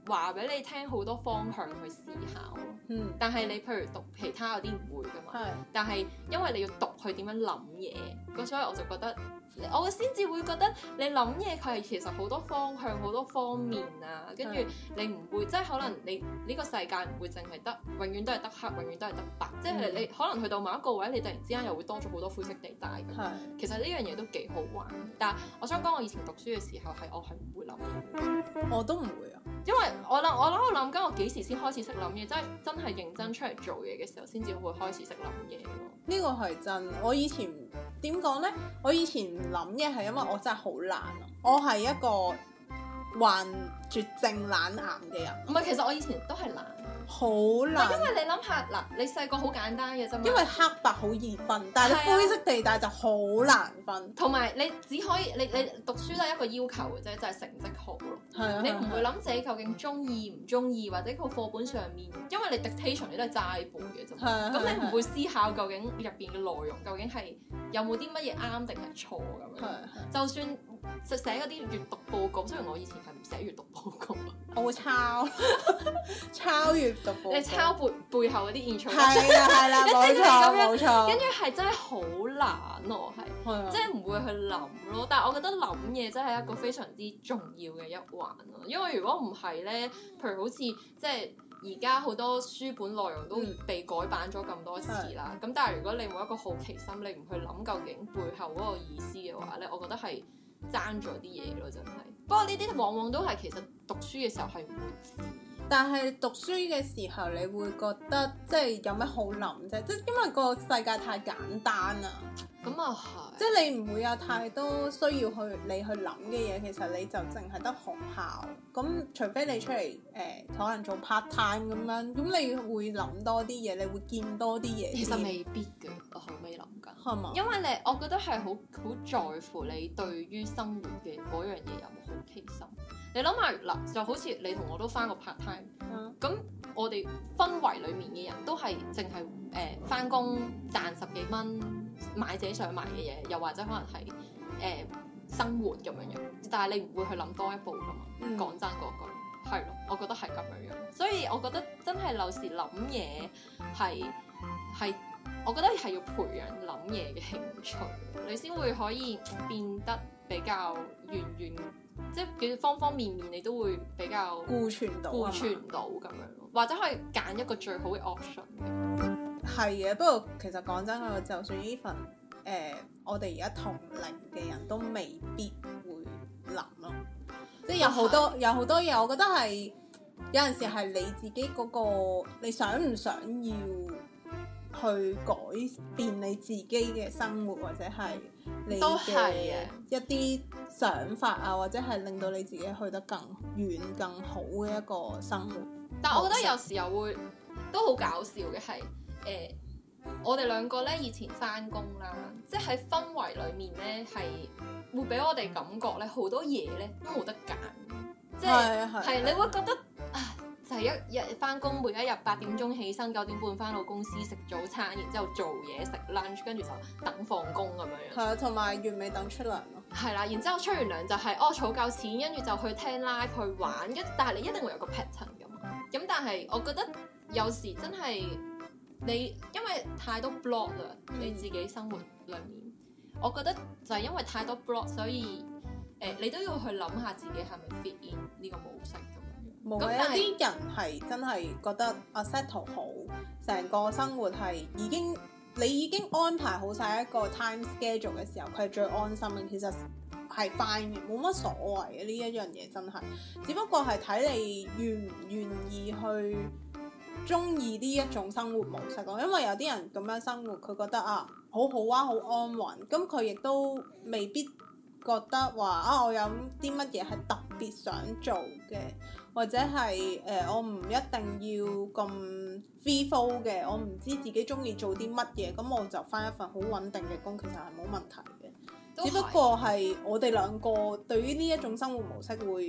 B: 話俾你聽好多方向去思考咯。
A: 嗯，
B: 但係你譬如讀其他有啲唔會噶嘛。
A: 係。
B: 但係因為你要讀佢點樣諗嘢，咁所以我就覺得。我先至會覺得你諗嘢佢係其實好多方向好多方面啊，跟住你唔會即係可能你呢個世界唔會淨係得永遠都係得黑，永遠都係得白，即係你可能去到某一個位，你突然之間又會多咗好多灰色地帶咁。
A: 係。
B: 其實呢樣嘢都幾好玩，但係我想講我以前讀書嘅時候係我係唔會諗嘢，
A: 我都唔會啊，
B: 因為我諗我諗我諗緊我幾時先開始識諗嘢，即係真係認真出嚟做嘢嘅時候先至會開始識諗嘢咯。
A: 呢個係真，我以前點講呢？我以前唔諗嘢係因為我真係好懶啊，我係一個患絕症懶癌嘅人。
B: 唔係，其實我以前都係懶，
A: 好
B: 唔係
A: 懶。
B: 因為你諗下嗱，你細個好簡單嘅啫嘛。
A: 因為黑白好易分，但係你灰色地帶就好難分。
B: 同埋你只可以你你讀書都係一個要求嘅啫，就係、是、成績好咯。
A: 係啊。
B: 你唔會諗自己究竟中意唔中意，或者個課本上面，因為你 dictation 你都係齋背嘅啫嘛。咁你唔會思考究竟入邊嘅內容究竟係有冇啲乜嘢啱定係錯咁樣。就算寫嗰啲閱讀報告，雖然我以前係唔寫閱讀報告，
A: 我會抄抄閱讀報告。
B: 你抄背背後嗰啲 intro。
A: 係啦係啦，冇錯冇錯。
B: 跟住係真係好難咯，係，即係唔會去諗咯。但係我覺得諗嘢真係一個非常之重要嘅一環咯。因為如果唔係咧，譬如好似即係而家好多書本內容都被改版咗咁多次啦。咁、嗯、但係如果你冇一個好奇心，你唔去諗究竟背後嗰個意思嘅話咧，我覺得係爭咗啲嘢咯，真係。不過呢啲往往都係其實讀書嘅時候係唔會知。
A: 但係讀書嘅時候，你會覺得即係有咩好諗啫？即係因為個世界太簡單啦。
B: 咁啊係。即
A: 係你唔會有太多需要去你去諗嘅嘢，其實你就淨係得學校。咁除非你出嚟誒、呃，可能做 part time 咁樣，咁你會諗多啲嘢，你會見多啲嘢。
B: 其實未必嘅，我後尾諗緊。係嘛？因為你，我覺得係好好在乎你對於生活嘅嗰樣嘢有冇好奇心。你諗下嗱，就好似你同我都返過 part time，咁、嗯、我哋氛圍裡面嘅人都係淨係誒返工賺十幾蚊買自己想買嘅嘢，又或者可能係誒、呃、生活咁樣樣，但係你唔會去諗多一步㗎嘛。講、嗯、真嗰句係咯，我覺得係咁樣樣，所以我覺得真係有時諗嘢係係，我覺得係要培養諗嘢嘅興趣，你先會可以變得比較圓圓。即係方方面面你都會比較
A: 顧全到
B: 顧全到咁樣咯，或者可以揀一個最好嘅 option 嘅。
A: 係嘅，不過其實講真嘅，就算呢份誒我哋而家同齡嘅人都未必會諗咯，即係有好多有好多嘢，我覺得係有陣時係你自己嗰個你想唔想要去改變你自己嘅生活，或者係你嘅一啲想法啊，或者係令到你自己去得更遠更好嘅一個生活。
B: 但係我覺得有時候會都好搞笑嘅係誒，我哋兩個咧以前返工啦，即係喺氛圍裡面咧係會俾我哋感覺咧好多嘢咧都冇得揀，即係係你會覺得啊〜就係一日翻工，每一日八點鐘起身，九點半翻到公司食早餐，然之後做嘢食 lunch， 跟住就等放工咁樣樣。係啊，
A: 同埋月尾等出糧咯。
B: 係啦，然之後出完糧就係、是、哦儲夠錢，跟住就去聽 live 去玩，一但係你一定會有個 pattern 㗎嘛。咁但係我覺得有時真係你因為太多 block 啦，嗯、你自己生活裡面，我覺得就係因為太多 block，所以誒、呃、你都要去諗下自己係咪 fit in 呢個模式。
A: 冇嘅，有啲人係真係覺得啊 settle 好，成個生活係已經你已經安排好晒一個 time schedule 嘅時候，佢係最安心嘅。其實係 fine 嘅，冇乜所謂嘅呢一樣嘢真係，只不過係睇你願唔願意去中意呢一種生活模式咯。因為有啲人咁樣生活，佢覺得啊好好啊，好安穩，咁佢亦都未必覺得話啊我有啲乜嘢係特別想做嘅。或者係誒、呃，我唔一定要咁 free flow 嘅，我唔知自己中意做啲乜嘢，咁我就返一份好穩定嘅工，其實係冇問題嘅。只不過係我哋兩個對於呢一種生活模式會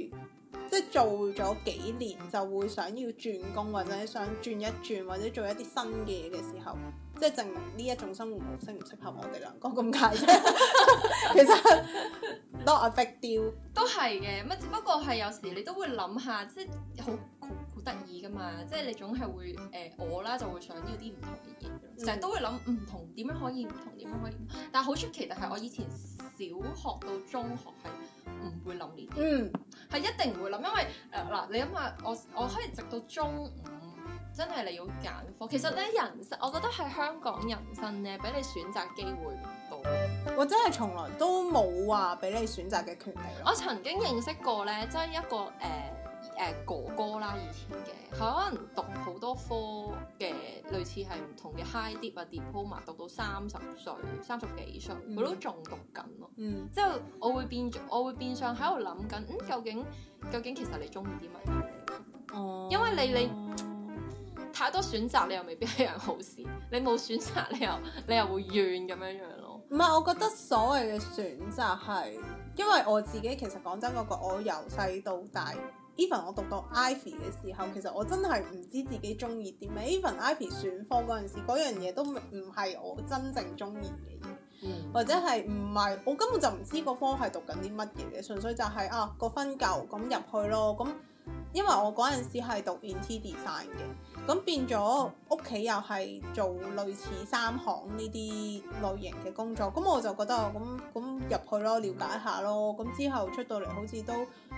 A: 即係做咗幾年就會想要轉工或者想轉一轉或者做一啲新嘅嘢嘅時候，即係證明呢一種生活模式唔適合我哋兩個咁解啫。其實 not a big deal
B: 都係嘅，乜只不過係有時你都會諗下，即係好好好得意噶嘛，即係你總係會誒、呃、我啦就會想要啲唔同嘅嘢，成日、嗯、都會諗唔同點樣可以唔同點樣可以，但係好出奇，但係我以前小學到中學係唔會諗呢啲，嗯，係一定唔會諗，因為誒嗱、呃、你諗下，我我可以直到中五真係你要揀科，其實咧人生，我覺得喺香港人生咧俾你選擇機會唔多，
A: 或者係從來都冇話俾你選擇嘅權利。
B: 我曾經認識過咧，即係一個誒。呃誒、呃、哥哥啦，以前嘅佢可能讀好多科嘅，類似係唔同嘅 high dip 啊 diploma， 讀到三十歲、三十幾歲，佢、嗯、都仲讀緊咯。嗯，之後我會變，我會變相喺度諗緊，嗯，究竟究竟其實你中意啲乜嘢？哦、嗯，因為你你太多選擇，你又未必係樣好事。你冇選擇，你又你又會怨咁樣樣咯。
A: 唔係，我覺得所謂嘅選擇係，因為我自己其實講真嗰個，我由細到大。Even 我讀到 Ivy 嘅時候，其實我真係唔知自己中意啲咩。Even Ivy 選科嗰陣時，嗰樣嘢都唔係我真正中意嘅嘢，嗯、或者係唔係我根本就唔知個科係讀緊啲乜嘢嘅，純粹就係、是、啊個分夠咁入去咯。咁因為我嗰陣時係讀 Interior Design 嘅，咁變咗屋企又係做類似三行呢啲類型嘅工作，咁我就覺得咁咁入去咯，了解下咯。咁之後出到嚟好似都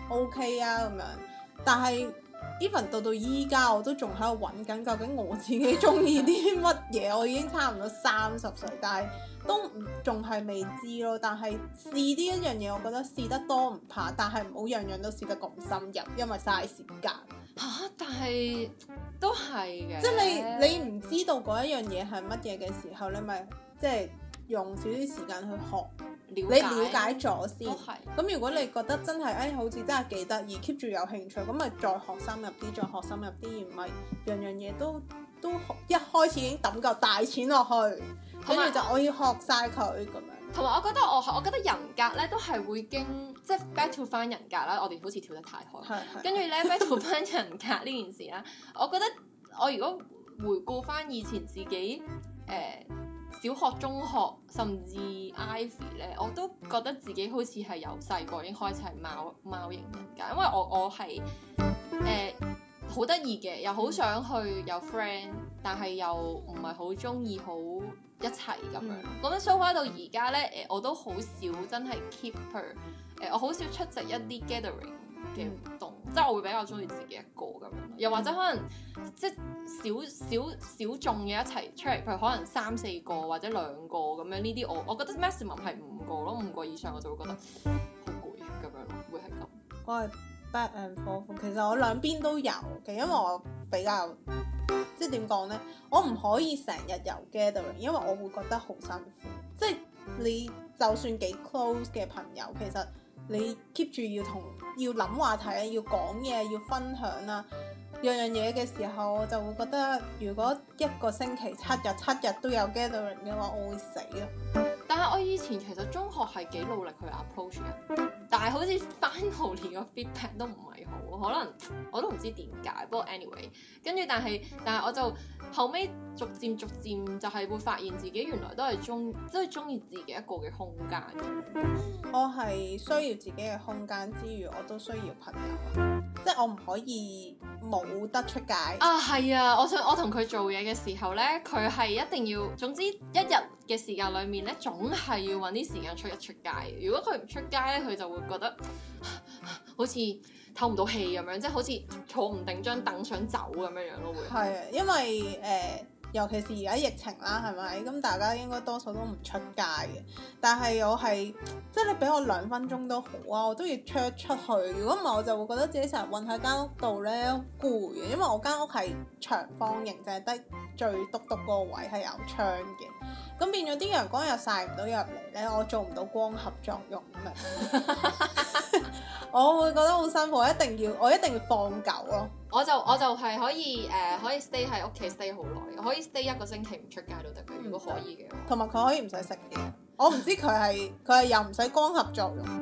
A: OK 啊咁樣。但係 even 到到依家我都仲喺度揾緊究竟我自己中意啲乜嘢。我已經差唔多三十歲，但係都仲係未知咯。但係試呢一樣嘢，我覺得試得多唔怕，但係唔好樣樣都試得咁深入，因為嘥時間
B: 嚇、啊。但係都係嘅，
A: 即係你你唔知道嗰一樣嘢係乜嘢嘅時候，你咪即係用少少時間去學。了解你了解咗先，咁如果你覺得真係誒、哎、好似真係幾得意 keep 住有興趣，咁咪再學深入啲，再學深入啲，而唔係樣樣嘢都都一開始已經抌夠大錢落去，跟住就我要學晒佢咁樣。
B: 同埋我覺得我我覺得人格咧都係會經即係 back to 翻人格啦，我哋好似跳得太開，跟住咧 back to 翻人格呢件事啦，我覺得我如果回顧翻以前自己誒。呃小學、中學甚至 Ivy 咧，我都覺得自己好似係由細個已經開始係貓貓型人格，因為我我係誒好得意嘅，又好想去有 friend，但係又唔係好中意好一齊咁樣。咁樣 so far 到而家咧，誒我都好少真係 keep her，誒、呃、我好少出席一啲 gathering 嘅活動，嗯、即係我會比較中意自己一個咁樣，又或者可能即係少少小眾嘅一齊出嚟，譬如可能三四個或者兩個咁樣呢啲，我我覺得 maximum 係五個咯，五個以上我就會覺得好攰咁樣咯，會係咁。
A: 我係 back and forth，其實我兩邊都有嘅，因為我比較即係點講咧，我唔可以成日有 gathering，因為我會覺得好辛苦。即係你就算幾 close 嘅朋友，其實你 keep 住要同要諗話題啊，要講嘢，要分享啦，樣樣嘢嘅時候，我就會覺得如果一個星期七日七日都有 gathering 嘅話，我會死啊！
B: 但係我以前其實中學係幾努力去 approach 嘅，但係好似 finally 個 feedback 都唔係好，可能我都唔知點解。不過 anyway， 跟住但係但係我就後尾逐漸逐漸就係會發現自己原來都係中即係中意自己一個嘅空間。
A: 我係需要自己嘅空間之餘，我都需要朋友，即係我唔可以冇得出街。
B: 啊，係啊！我想我同佢做嘢嘅時候咧，佢係一定要，總之一日嘅時間裏面咧，總係要揾啲時間出一出街。如果佢唔出街咧，佢就會覺得好似透唔到氣咁樣，即係好似坐唔定張凳想走咁樣樣咯。會
A: 係啊，因為誒、呃，尤其是而家疫情啦，係咪？咁大家應該多數都唔出街嘅。但係我係即係你俾我兩分鐘都好啊，我都要出一出去。如果唔係，我就會覺得自己成日韞喺間屋度咧攰嘅，因為我間屋係長方形，就係得最篤篤嗰個位係有窗嘅。咁變咗啲陽光又曬唔到入嚟咧，我做唔到光合作用咁我會覺得好辛苦，我一定要我一定要放狗咯。
B: 我就我就係可以誒、呃、可以 stay 喺屋企 stay 好耐，可以 stay 一個星期唔出街都得嘅，如果可以嘅話。
A: 同埋佢可以唔使食嘢，我唔知佢係佢係又唔使光合作用，佢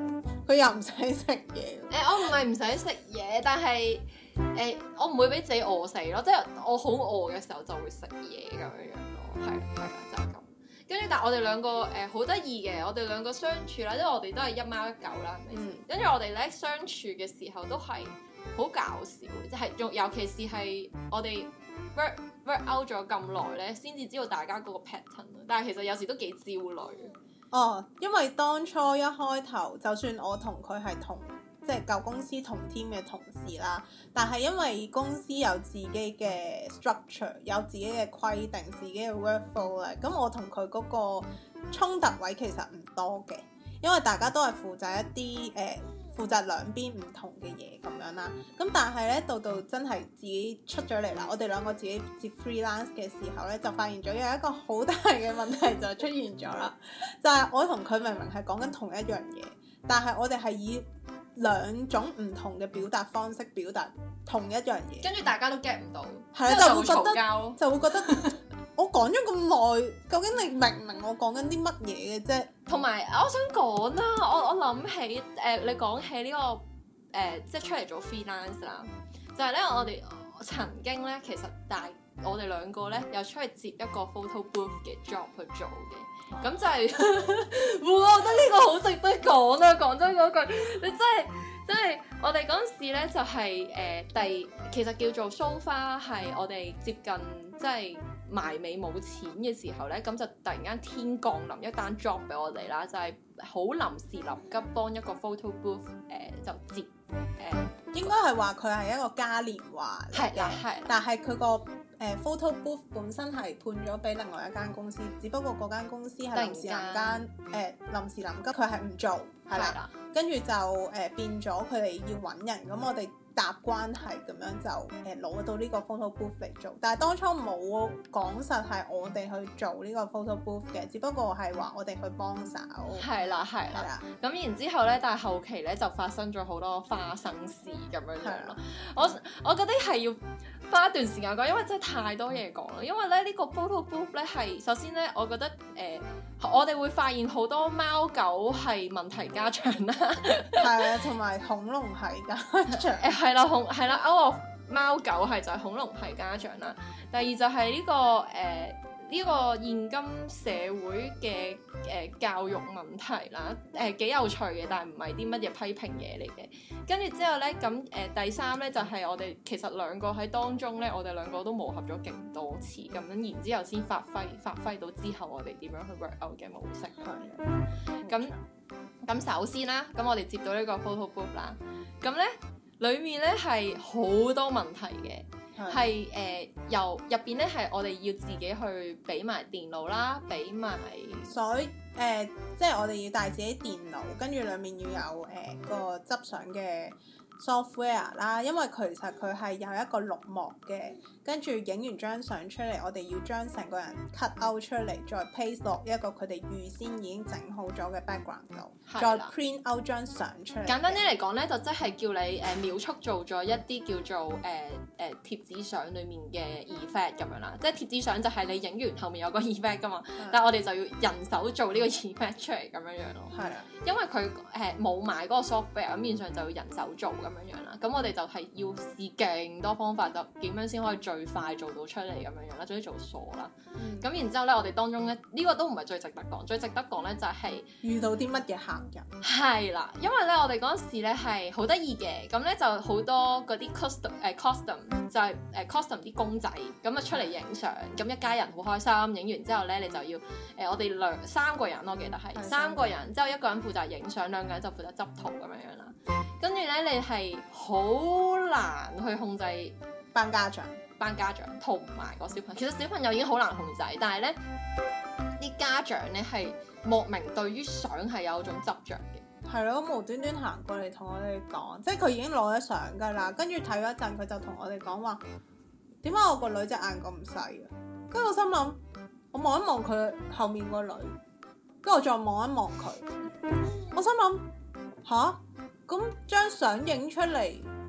A: 佢又唔使食嘢。
B: 誒、我唔係唔使食嘢，但係誒、我唔會俾自己餓死咯，即係我好餓嘅時候就會食嘢咁樣樣咯，係係啦，就係、咁。跟住，但係我哋兩個誒好得意嘅，我哋兩個相處啦，因為我哋都係一貓一狗啦，係咪先？跟住、嗯、我哋咧相處嘅時候都係好搞笑，即係仲尤其是係我哋 work work out 咗咁耐咧，先至知道大家嗰個 pattern。但係其實有時都幾焦慮。
A: 哦，因為當初一開頭，就算我同佢係同即係舊公司同 team 嘅同事啦，但係因為公司有自己嘅 structure， 有自己嘅規定，自己嘅 workflow 咧，咁我同佢嗰個衝突位其實唔多嘅，因為大家都係負責一啲誒、呃、負責兩邊唔同嘅嘢咁樣啦。咁但係咧到到真係自己出咗嚟啦，我哋兩個自己接 freelance 嘅時候咧，就發現咗有一個好大嘅問題就出現咗啦，就係、是、我同佢明明係講緊同一樣嘢，但係我哋係以兩種唔同嘅表達方式表達同一樣嘢，
B: 跟住大家都 get 唔到，
A: 係啊，就會覺得就會覺得我講咗咁耐，究竟你明唔明我講緊啲乜嘢嘅啫？
B: 同埋我想講啦，我我諗起誒、呃，你講起呢、這個誒、呃，即係出嚟做 freelance 啦，就係、是、咧我哋曾經咧，其實大我哋兩個咧又出去接一個 photo booth 嘅 job 去做嘅，咁就係、是，我覺得呢個好值得講啊！講真嗰句，你真係真係，我哋嗰陣時咧就係、是、誒、呃、第，其實叫做 so far 係我哋接近即係埋尾冇錢嘅時候咧，咁就突然間天降臨一單 job 俾我哋啦，就係好臨時臨急幫一個 photo booth 誒、呃、就接誒，呃、
A: 應該係話佢係一個嘉年華嚟嘅，
B: 係，
A: 但係佢個誒 photo booth 本身係判咗俾另外一間公司，只不過嗰間公司係臨時臨間誒臨時臨急，佢係唔做係啦，跟住就誒、呃、變咗佢哋要揾人，咁我哋搭關係咁樣就誒攞、呃、到呢個 photo booth 嚟做，但係當初冇講實係我哋去做呢個 photo booth 嘅，只不過係話我哋去幫手。
B: 係啦係啦，咁然之後咧，但係後期咧就發生咗好多花生事咁樣樣咯。我我覺得係要花一段時間講，因為真係太多嘢講啦。因為咧呢、這個 photo booth 咧係首先咧，我覺得誒、呃、我哋會發現好多貓狗係問題家長啦，
A: 係啊，同埋恐龍係家長。
B: 誒係啦，恐係啦，歐樂貓狗係就係恐龍係家長啦。第二就係呢、這個誒。呃呢個現今社會嘅誒、呃、教育問題啦，誒、呃、幾有趣嘅，但係唔係啲乜嘢批評嘢嚟嘅。跟住之後咧，咁誒、呃、第三咧就係、是、我哋其實兩個喺當中咧，我哋兩個都磨合咗勁多次，咁樣然之後先發揮發揮到之後我哋點樣去 work out 嘅模式。係。咁咁首先啦，咁我哋接到呢個 photo booth 啦，咁咧裡面咧係好多問題嘅。係誒、呃、由入邊咧係我哋要自己去俾埋電腦啦，俾埋
A: 所以誒，即係我哋要帶自己電腦，跟住裡面要有誒、呃、個執相嘅 software 啦，因為其實佢係有一個綠幕嘅，跟住影完張相出嚟，我哋要將成個人 cut out 出嚟，再 paste 落一個佢哋預先已經整好咗嘅 background 度，的再 print out 張相出嚟。簡單
B: 啲嚟講咧，就即係叫你誒、呃、秒速做咗一啲叫做誒誒、呃呃、貼紙相裡面嘅 effect 咁樣啦，即係貼紙相就係你影完後面有個 effect 噶嘛，的但係我哋就要人手做呢個 effect 出嚟咁樣樣咯。係啊的，因為佢誒冇買嗰個 software，咁面上就要人手做咁樣樣啦。咁我哋就係要試勁多方法，就點樣先可以最快做到出嚟咁樣樣啦，總之做傻啦。咁、嗯、然之後咧，我哋當中咧呢、呢個都唔係最值得講，最值得講咧就係、是、
A: 遇到啲乜嘢客人。係
B: 啦，因為咧我哋嗰陣時咧係好得意嘅，咁咧就好多嗰啲 custom 誒 custom 就係誒 custom 啲公仔，咁啊出嚟影相，咁一家人好開心，影完之後咧你就要誒、呃、我哋兩三個人，我記得係的三個人，之後一個人負責影相，兩個人就負責執圖咁樣樣啦。跟住咧你係好難去控制
A: 班家長、
B: 班家長同埋個小朋友。其實小朋友已經好難控制，但係咧啲家長咧係莫名對於相係有種執着嘅。
A: 係咯，無端端行過嚟同我哋講，即係佢已經攞咗相㗎啦。跟住睇咗一陣，佢就同我哋講話：點解我個女隻眼咁細嘅？跟住我心諗，我望一望佢後面個女，跟住我再望一望佢，我心諗吓？咁張相影出嚟，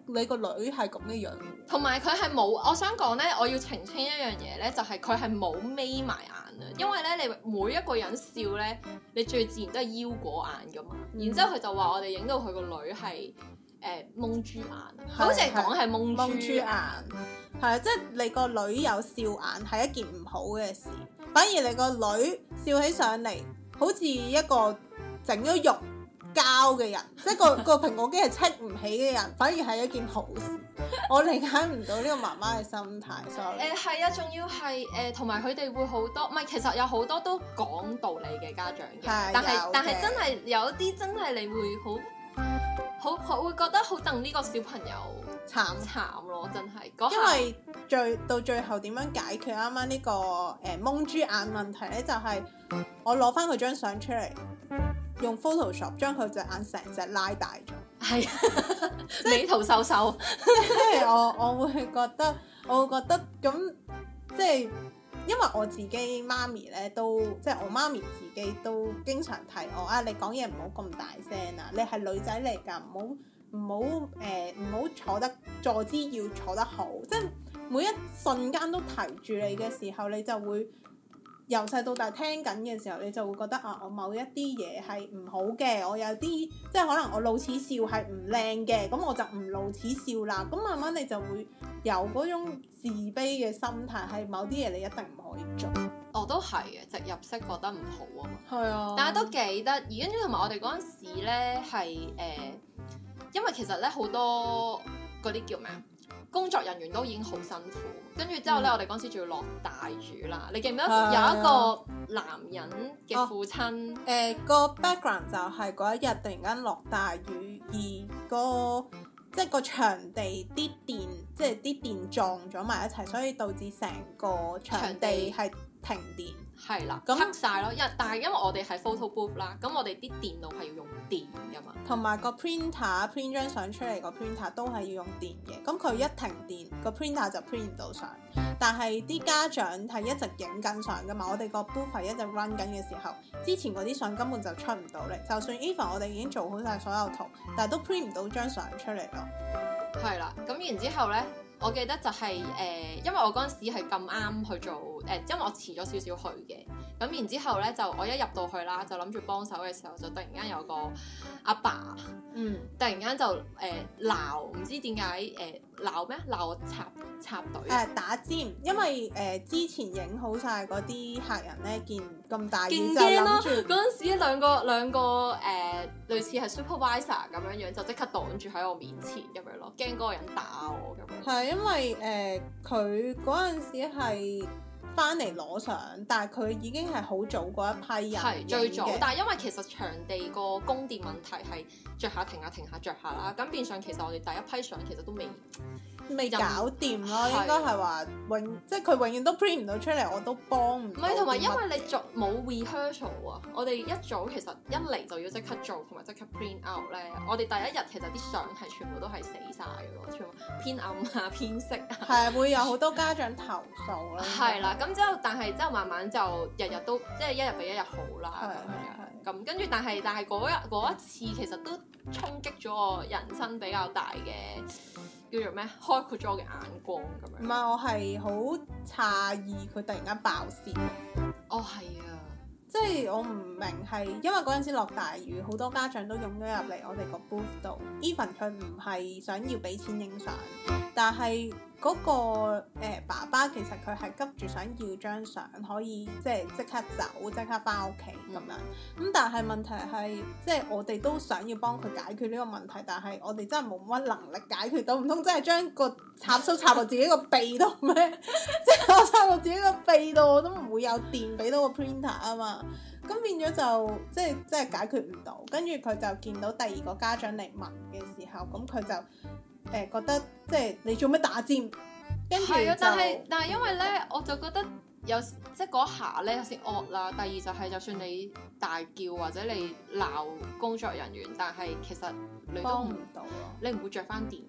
A: 你個女係咁嘅樣，
B: 同埋佢係冇，我想講咧，我要澄清一樣嘢咧，就係佢係冇眯埋眼啊，因為咧你每一個人笑咧，你最自然都係腰果眼噶嘛，嗯、然之後佢就話我哋影到佢個女係誒蒙豬眼，佢好似係講係蒙豬眼，
A: 係啊，即係你個女有笑眼係一件唔好嘅事，反而你個女笑起上嚟好似一個整咗肉膠嘅人，即係個個蘋果肌係戚唔起嘅人，反而係一件好事。我理解唔到呢個媽媽嘅心態。sorry。誒
B: 係啊，仲要係誒，同埋佢哋會好多，唔係其實有好多都講道理嘅家長嘅，但係但係真係有啲真係你會好好好會覺得好戥呢個小朋友慘慘咯，真係。
A: 因為最到最後點樣解決啱啱呢個誒蒙豬眼問題咧？就係、是、我攞翻佢張相出嚟。用 Photoshop 將佢隻眼成隻拉大咗，係
B: 美圖秀秀。
A: 即係我我會覺得，我會覺得咁，即係因為我自己媽咪咧都，即係我媽咪自己都經常提我啊，你講嘢唔好咁大聲啊，你係女仔嚟㗎，唔好唔好誒唔好坐得坐姿要坐得好，即係每一瞬間都提住你嘅時候，你就會。由細到大聽緊嘅時候，你就會覺得啊，我某一啲嘢係唔好嘅，我有啲即係可能我露齒笑係唔靚嘅，咁我就唔露齒笑啦。咁慢慢你就會有嗰種自卑嘅心態，係某啲嘢你一定唔可以做。
B: 我都係嘅，直入式覺得唔好啊嘛。
A: 係啊，
B: 但係都幾得意，跟住同埋我哋嗰陣時咧係誒，因為其實咧好多嗰啲叫咩啊？工作人員都已經好辛苦，跟住之後咧，嗯、我哋嗰陣時仲要落大雨啦。你記唔記得有一個男人嘅父親？誒、
A: 哦呃個 background 就係嗰一日突然間落大雨，而、個即係個場地啲電，即係啲電撞咗埋一齊，所以導致成個場地係停電。
B: 係啦，咁黑晒咯，因但係因為我哋係 photo booth 啦，咁我哋啲電腦係要用電噶嘛，
A: 同埋個 printer print 張相出嚟個 printer 都係要用電嘅，咁佢一停電個 printer 就 print 唔到相，但係啲家長係一直影緊相噶嘛，我哋個 booth 係一直 run 緊嘅時候，之前嗰啲相根本就出唔到嚟，就算 even 我哋已經做好晒所有圖，但係都 print 唔到張相出嚟咯。
B: 係啦，咁然之後咧。我記得就係、是、誒、呃，因為我嗰陣時係咁啱去做誒、呃，因為我遲咗少少去嘅，咁然之後咧就我一入到去啦，就諗住幫手嘅時候，就突然間有個阿爸，爸，嗯，突然間就誒鬧，唔、呃、知點解誒鬧咩？鬧我插插隊誒、
A: 呃、打尖，因為誒、呃、之前影好晒嗰啲客人咧，見咁大雨就諗住
B: 嗰陣時兩個兩個誒、呃、類似係 supervisor 咁樣樣，就即刻擋住喺我面前咁樣咯，驚嗰個人打我咁樣。
A: 係因為誒佢嗰陣時係翻嚟攞相，但係佢已經係好早嗰一批人
B: 係最早，但係因為其實場地個供電問題係着下停下停下着下啦，咁變相其實我哋第一批相其實都未
A: 未搞掂咯，應該係話永即係佢永遠都 print 唔到出嚟，我都幫唔到。唔係，
B: 同埋因為你做冇 rehearsal 啊，我哋一早其實一嚟就要即刻做同埋即刻 print out 咧，我哋第一日其實啲相係全部都係死晒嘅咯，全部偏暗啊偏色啊，
A: 係啊，會有好多家長投訴啦。
B: 係啦，咁之後但係之後慢慢就日日都即係一日比一日好啦。
A: 係係係。
B: 咁跟住但係但係嗰日嗰一次其實都衝擊咗我人生比較大嘅。叫做咩？開闊咗我嘅眼光咁樣。唔係，
A: 我係好詫異佢突然間爆線。
B: 哦，係啊，
A: 即係我唔明係因為嗰陣時落大雨，好多家長都湧咗入嚟我哋個 booth 度。Even 佢唔係想要俾錢影相，但係嗰、嗰個、呃、爸爸其實佢係急住想要張相，可以即係即刻走，即刻翻屋企咁樣。咁、嗯、但係問題係，即係我哋都想要幫佢解決呢個問題，但係我哋真係冇乜能力解決到，唔通真係將個插蘇插落自己個鼻度咩？即係我插落自己個鼻度，我都唔會有電俾到個 printer 啊嘛。咁變咗就即係即係解決唔到。跟住佢就見到第二個家長嚟問嘅時候，咁佢就。誒、呃、覺得即係你做咩打尖？跟住
B: 係啊，但係但係因為咧，我就覺得有即係嗰下咧有啲惡啦。第二就係就算你大叫或者你鬧工作人員，但係其實你都
A: 幫唔到咯。
B: 你唔會着翻電噶嘛？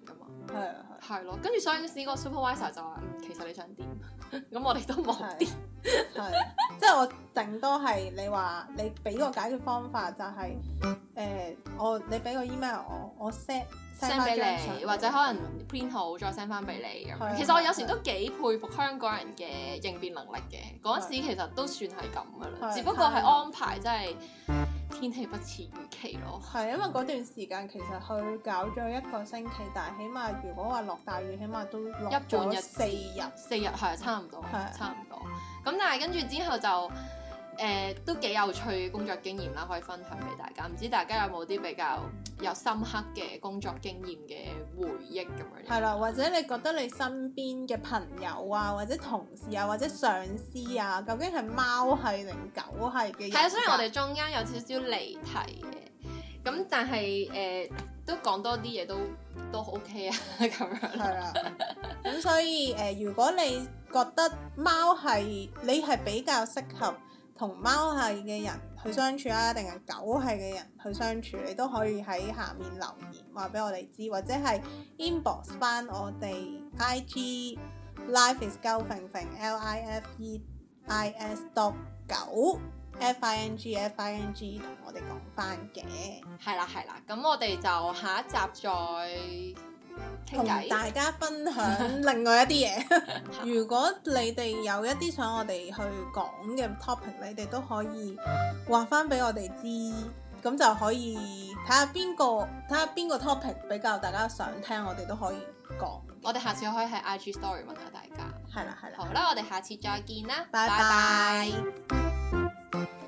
A: 係啊係。
B: 係咯，跟住上司嗰個 supervisor 就話：嗯，其實你想點？咁我哋都冇點。
A: 係，即係我頂多係你話你俾個解決方法就係、是、誒、呃、我你俾個 email 我，我 set
B: send 俾你，或者可能 print 好再 send 翻俾你咁樣。其實我有時都幾佩服香港人嘅應變能力嘅。嗰陣時其實都算係咁噶啦，只不過係安排真係天氣不似預期咯。
A: 係因為嗰段時間其實佢搞咗一個星期，但係起碼如果話落大雨，起碼都落咗四日。
B: 四日係差唔多，
A: 係
B: 差唔多。咁但係跟住之後就誒、呃、都幾有趣嘅工作經驗啦，可以分享俾大家。唔知大家有冇啲比較有深刻嘅工作經驗嘅回憶咁樣？
A: 係啦，或者你覺得你身邊嘅朋友啊，或者同事啊，或者上司啊，究竟係貓係定狗係嘅人？
B: 係啊，雖然我哋中間有少少離題嘅，咁但係誒、呃、都講多啲嘢都都 OK 啊咁樣。
A: 係啦，咁所以誒、呃，如果你覺得貓係你係比較適合同貓係嘅人去相處啊，定係狗係嘅人去相處，你都可以喺下面留言話俾我哋知，或者係 inbox 翻我哋 I G Life is 狗揈揈 L I F E I S dot 九 F I N G F I N G 同我哋講翻嘅。
B: 係啦係啦，咁我哋就下一集再
A: 同大家分享另外一啲嘢。如果你哋有一啲想我哋去講嘅 topic， 你哋都可以話翻俾我哋知，咁就可以睇下邊個睇下邊個 topic 比較大家想聽，我哋都可以講。
B: 我哋下次可以喺 I G Story 問下大家。
A: 係啦係啦。
B: 好啦，我哋下次再見啦，
A: 拜拜。